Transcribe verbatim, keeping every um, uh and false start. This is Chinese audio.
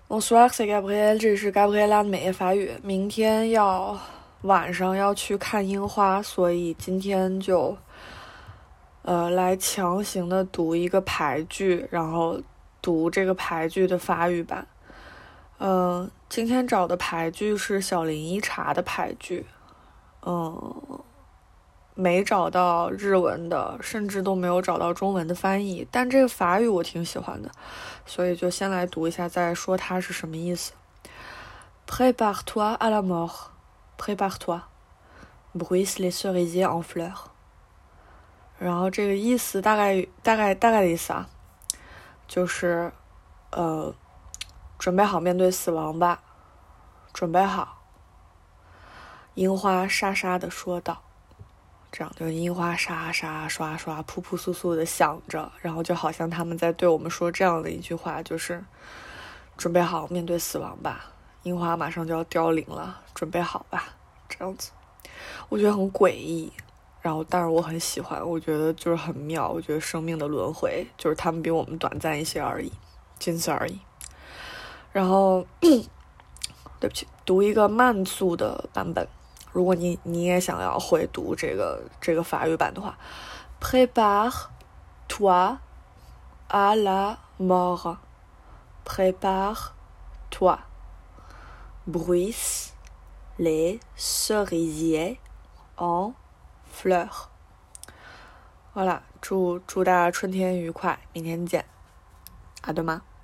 Bonsoir, c'est Gabriel，这里是 Gabriela 的每夜法语。明天要晚上要去看樱花，所以今天就呃来强行的读一个排剧，然后读这个排剧的法语版。嗯、呃，今天找的排剧是小林一茶的排剧，嗯，没找到日文的，甚至都没有找到中文的翻译，但这个法语我挺喜欢的，所以就先来读一下，再说它是什么意思。Prépare-toi à la mort. Prépare-toi. Bruissent les cerisiers en fleurs. 然后这个意思大概大概大概的意思啊，就是呃，准备好面对死亡吧，准备好。樱花沙沙地说道。这样就是樱花沙沙刷刷扑扑簌簌的响着，然后就好像他们在对我们说这样的一句话，就是准备好面对死亡吧，樱花马上就要凋零了，准备好吧，这样子。我觉得很诡异，然后但是我很喜欢，我觉得就是很妙，我觉得生命的轮回就是他们比我们短暂一些而已，仅此而已。然后对不起，读一个慢速的版本，如果你你也想要会读这个这个法语版的话 Prépare-toi à la mort. Prépare-toi. Bruissent les cerisiers en fleurs. 好啦，祝祝大家春天愉快，明天见，阿德玛。